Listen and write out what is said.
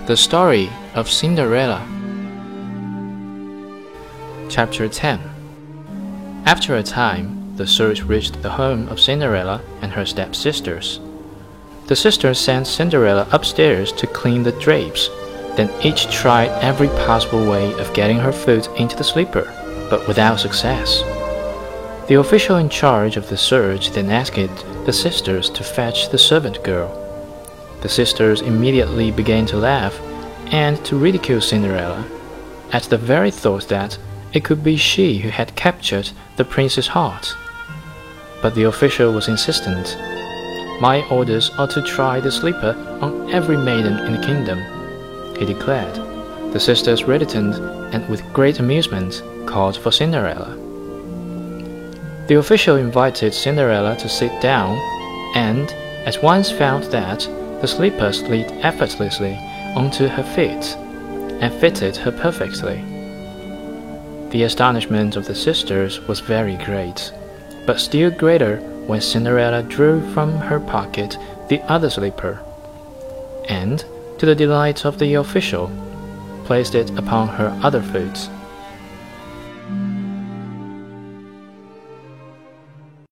The Story of Cinderella. Chapter 10. After a time, the search reached the home of Cinderella and her stepsisters. The sisters sent Cinderella upstairs to clean the drapes. Then each tried every possible way of getting her foot into the slipper, but without success. The official in charge of the search then asked the sisters to fetch the servant girl. The sisters immediately began to laugh and to ridicule Cinderella, at the very thought that it could be she who had captured the prince's heart. But the official was insistent. "My orders are to try the slipper on every maiden in the kingdom," he declared. The sisters reddened and with great amusement called for Cinderella. The official invited Cinderella to sit down and at once found that the slipper slid effortlessly onto her feet and fitted her perfectly. The astonishment of the sisters was very great, but still greater when Cinderella drew from her pocket the other slipper, and, to the delight of the official, placed it upon her other foot.